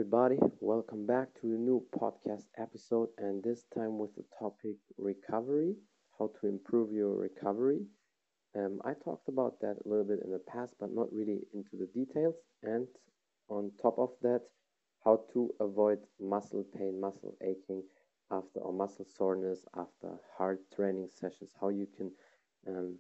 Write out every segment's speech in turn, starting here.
everybody. Welcome back to a new podcast episode, and this time with the topic recovery, how to improve your recovery. I talked about that a little bit in the past, but not really into the details. And on top of that, how to avoid muscle pain, muscle aching after or muscle soreness after hard training sessions, how you can um,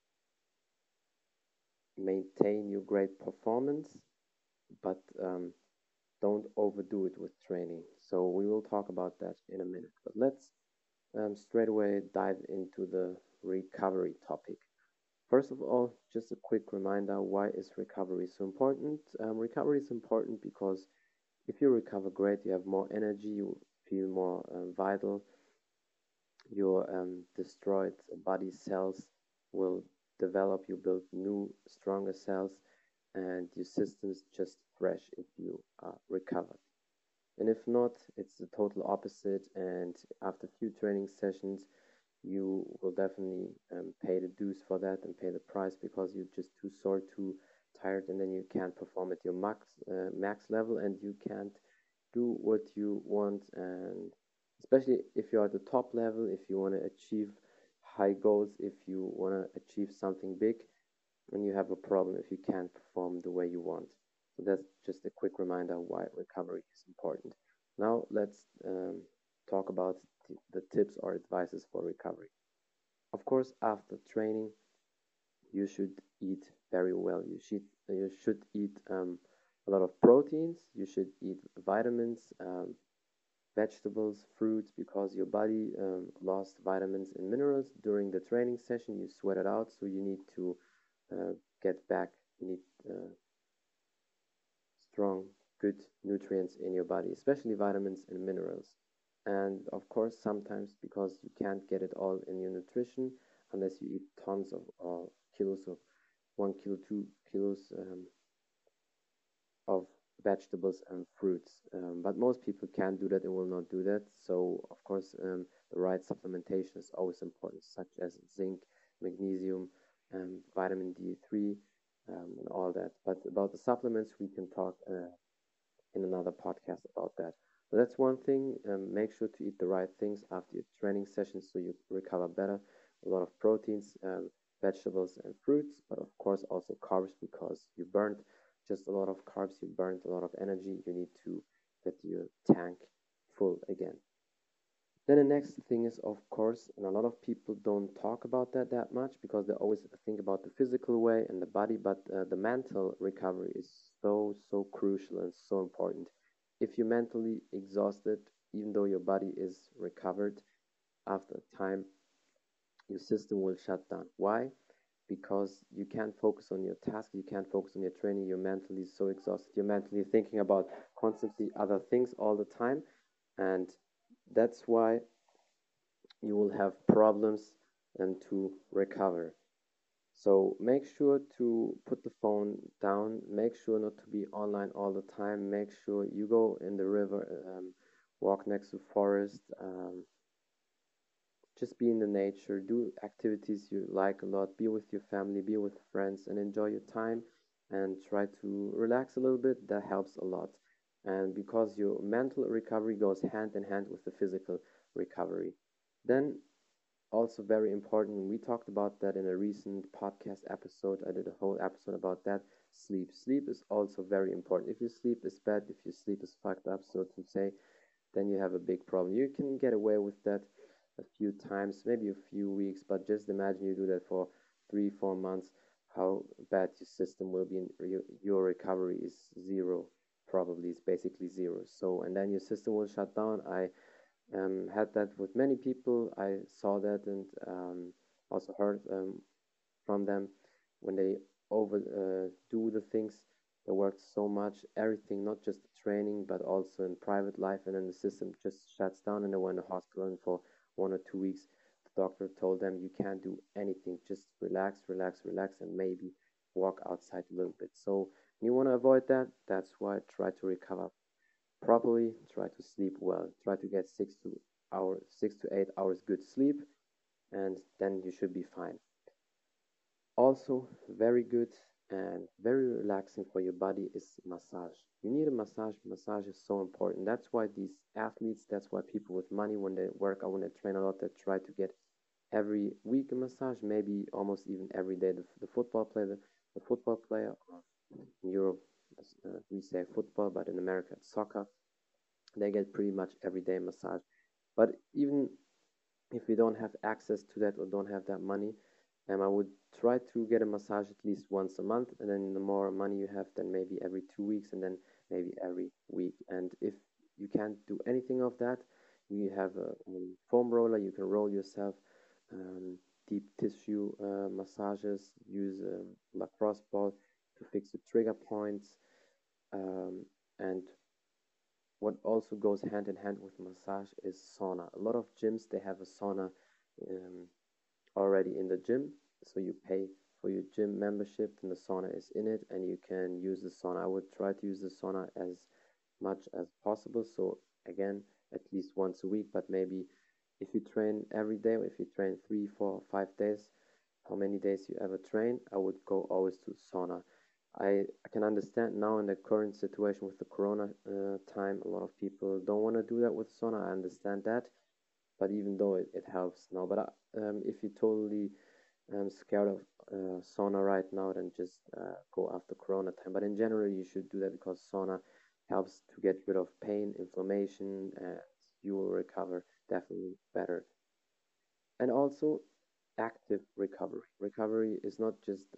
maintain your great performance, but don't overdo it with training. So we will talk about that in a minute. But let's straight away dive into the recovery topic. First of all, just a quick reminder, why is recovery so important? Recovery is important because if you recover great, you have more energy, you feel more vital, your destroyed body cells will develop, you build new, stronger cells, and your system's just fresh if you are recovered. And if not, it's the total opposite. And after a few training sessions, you will definitely pay the dues for that and pay the price because you're just too sore, too tired, and then you can't perform at your max level, and you can't do what you want. And especially if you're at the top level, if you want to achieve high goals, if you want to achieve something big, and you have a problem if you can't perform the way you want. So that's just a quick reminder why recovery is important. Now let's talk about the tips or advices for recovery. Of course, after training, you should eat very well. You should eat a lot of proteins. You should eat vitamins, vegetables, fruits, because your body lost vitamins and minerals during the training session. You sweat it out, so you need to get back. You need strong, good nutrients in your body, especially vitamins and minerals. And of course, sometimes because you can't get it all in your nutrition unless you eat tons of kilos of 1 kilo, 2 kilos of vegetables and fruits. But most people can't do that and will not do that. So, of course, the right supplementation is always important, such as zinc, magnesium, vitamin D3, and all that. But about the supplements, we can talk in another podcast about that. So that's one thing. Make sure to eat the right things after your training sessions so you recover better. A lot of proteins, vegetables, and fruits, but of course also carbs because you burned just a lot of carbs, you burned a lot of energy. You need to get your tank full again. Then the next thing is, of course, and a lot of people don't talk about that much because they always think about the physical way and the body, but the mental recovery is so crucial and so important. If you're mentally exhausted, even though your body is recovered, after time, your system will shut down. Why? Because you can't focus on your task, you can't focus on your training, you're mentally so exhausted, you're mentally thinking about constantly other things all the time, and that's why you will have problems and to recover. So make sure to put the phone down, make sure not to be online all the time, make sure you go in the river, walk next to forest, just be in the nature, do activities you like a lot, be with your family, be with friends, and enjoy your time and try to relax a little bit. That helps a lot. And because your mental recovery goes hand in hand with the physical recovery. Then, also very important, we talked about that in a recent podcast episode. I did a whole episode about that. Sleep. Sleep is also very important. If your sleep is bad, if your sleep is fucked up, so to say, then you have a big problem. You can get away with that a few times, maybe a few weeks, but just imagine you do that for 3, 4 months, how bad your system will be. Your recovery is zero, probably it's basically zero. So, and then your system will shut down. I had that with many people. I saw that and also heard from them when they overdo the things. They worked so much, everything, not just the training, but also in private life, and then the system just shuts down, and they went to hospital, and for 1 or 2 weeks, the doctor told them you can't do anything, just relax, relax, relax, and maybe walk outside a little bit. So you want to avoid that. That's why try to recover properly, try to sleep well, try to get 6 to 8 hours good sleep, and then you should be fine. Also, very good. and very relaxing for your body is massage. You need a massage. Massage is so important. That's why these athletes, that's why people with money, when they work out, when they train a lot, they try to get every week a massage, maybe almost even every day. The football player, the football player in Europe, we say football, but in America it's soccer. They get pretty much every day massage. But even if you don't have access to that or don't have that money, I would try to get a massage at least once a month, and then the more money you have, then maybe every 2 weeks, and then maybe every week. And if you can't do anything of that, you have a foam roller. You can roll yourself. Um, Deep tissue massages. Use a lacrosse ball to fix the trigger points. Um, and what also goes hand in hand with massage is sauna. A lot of gyms they have a sauna um, already in the gym, so you pay for your gym membership, and the sauna is in it, and you can use the sauna. I would try to use the sauna as much as possible. So again, at least once a week, but maybe if you train every day, or if you train 3, 4, 5 days, how many days you ever train, I would go always to sauna. I can understand now in the current situation with the corona time, a lot of people don't want to do that with sauna. I understand that, but even though it helps now, but if you're totally scared of sauna right now, then just go after corona time. But in general, you should do that because sauna helps to get rid of pain, inflammation, and you will recover definitely better. And also active recovery. Recovery is not just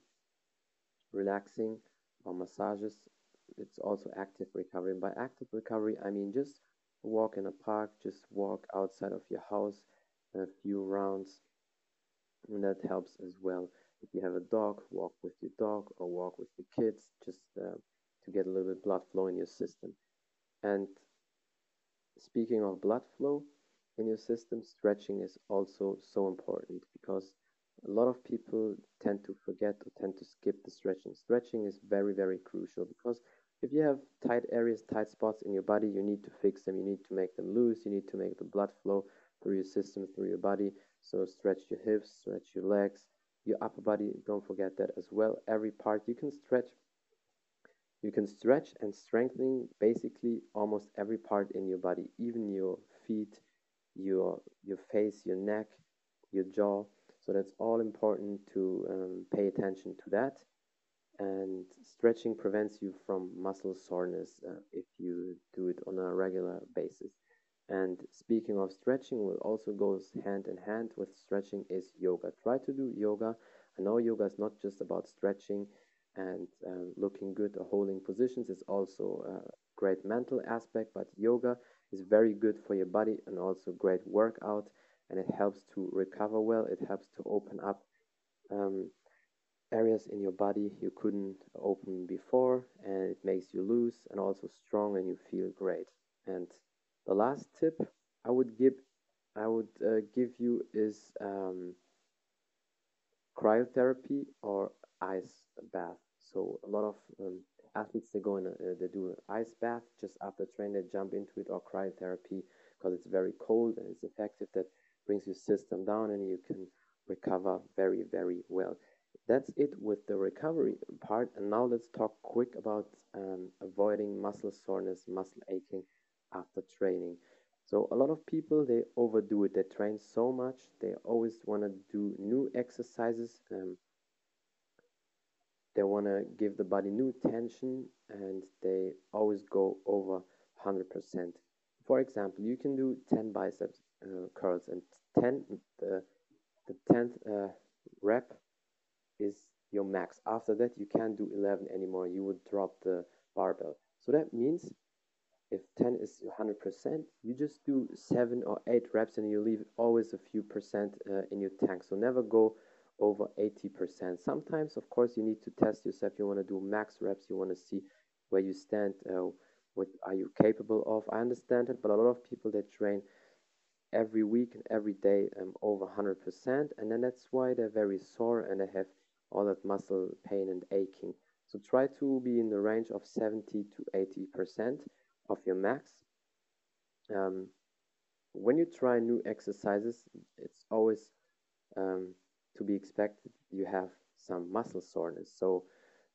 relaxing or massages, it's also active recovery. And by active recovery, I mean just walk in a park, just walk outside of your house a few rounds, and that helps as well. If you have a dog, walk with your dog or walk with your kids, just to get a little bit blood flow in your system. And speaking of blood flow in your system, stretching is also so important because a lot of people tend to forget or tend to skip the stretching. Stretching is very, very crucial because if you have tight areas, tight spots in your body, you need to fix them. You need to make them loose. You need to make the blood flow through your system, through your body. So stretch your hips, stretch your legs, your upper body. Don't forget that as well. Every part you can stretch. You can stretch and strengthen basically almost every part in your body, even your feet, your face, your neck, your jaw. So that's all important to pay attention to that. And stretching prevents you from muscle soreness if you do it on a regular basis. And speaking of stretching, what also goes hand in hand with stretching is yoga. Try to do yoga. I know yoga is not just about stretching and looking good or holding positions, it's also a great mental aspect, but yoga is very good for your body and also great workout, and it helps to recover well. It helps to open up um, areas in your body you couldn't open before, and it makes you loose and also strong, and you feel great. And the last tip I would give give you is cryotherapy or ice bath. So a lot of athletes they do an ice bath just after training. They jump into it, or cryotherapy because it's very cold and it's effective. That brings your system down and you can recover very, very well. That's it with the recovery part. And now let's talk quick about avoiding muscle soreness, muscle aching after training. So a lot of people they overdo it. They train so much. They always want to do new exercises. They want to give the body new tension, and they always go over 100%. For example, you can do 10 biceps curls, and 10 the 10th rep is your max. After that, you can't do 11 anymore. You would drop the barbell. So that means if 10 is 100%, you just do 7 or 8 reps and you leave always a few percent in your tank. So never go over 80%. Sometimes, of course, you need to test yourself. You want to do max reps. You want to see where you stand. What are you capable of? I understand it, but a lot of people they train every week and every day over 100%, and then that's why they're very sore and they have all that muscle pain and aching. So try to be in the range of 70 to 80% of your max. Um, when you try new exercises, it's always um, to be expected you have some muscle soreness. So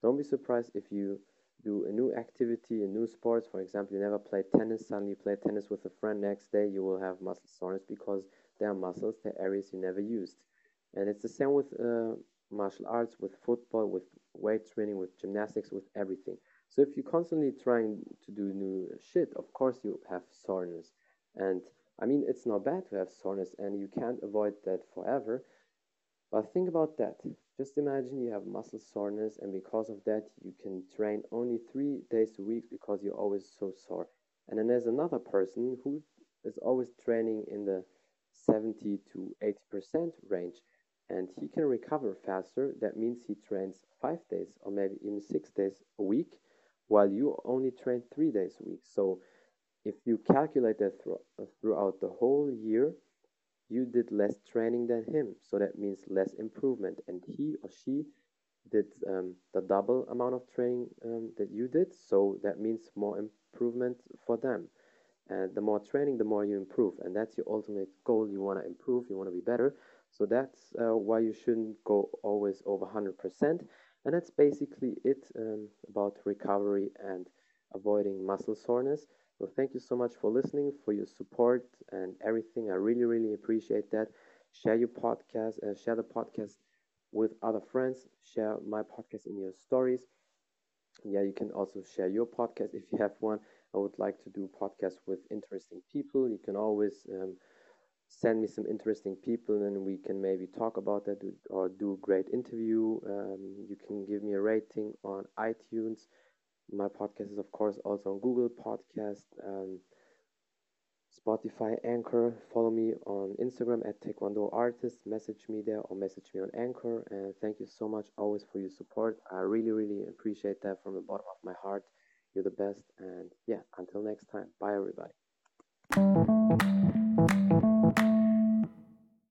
Don't be surprised if you do a new activity, a new sport. For example, you never played tennis, suddenly you play tennis with a friend, next day you will have muscle soreness because they are muscles, they're areas you never used. And it's the same with martial arts, with football, with weight training, with gymnastics, with everything. So if you're constantly trying to do new shit, of course you have soreness. And I mean, it's not bad to have soreness, and you can't avoid that forever. But think about that. Just imagine you have muscle soreness, and because of that, you can train only 3 days a week because you're always so sore. And then there's another person who is always training in the 70 to 80% range, and he can recover faster. That means he trains 5 days or maybe even 6 days a week, while you only train 3 days a week. So if you calculate that throughout the whole year, you did less training than him, so that means less improvement. And he or she did the double amount of training that you did, so that means more improvement for them. And the more training, the more you improve, and that's your ultimate goal. You want to improve, you want to be better. So that's why you shouldn't go always over 100%. And that's basically it about recovery and avoiding muscle soreness. So thank you so much for listening, for your support and everything. I really, really appreciate that. Share your podcast, share the podcast with other friends. Share my podcast in your stories. Yeah, you can also share your podcast if you have one. I would like to do podcasts with interesting people. You can always send me some interesting people and we can maybe talk about that or do a great interview. You can give me a rating on iTunes. My podcast is, of course, also on Google Podcast, Spotify, Anchor. Follow me on Instagram at Taekwondo Artist. Message me there or message me on Anchor. And thank you so much always for your support. I really, really appreciate that from the bottom of my heart. You're the best. And yeah, until next time. Bye, everybody.